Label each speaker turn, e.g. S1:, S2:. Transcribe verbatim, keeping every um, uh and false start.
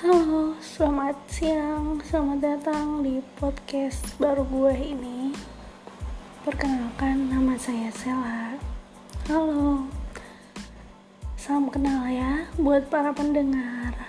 S1: Halo, selamat siang, selamat datang di podcast baru gue ini. Perkenalkan, nama saya Sela. Halo, salam kenal ya buat para pendengar.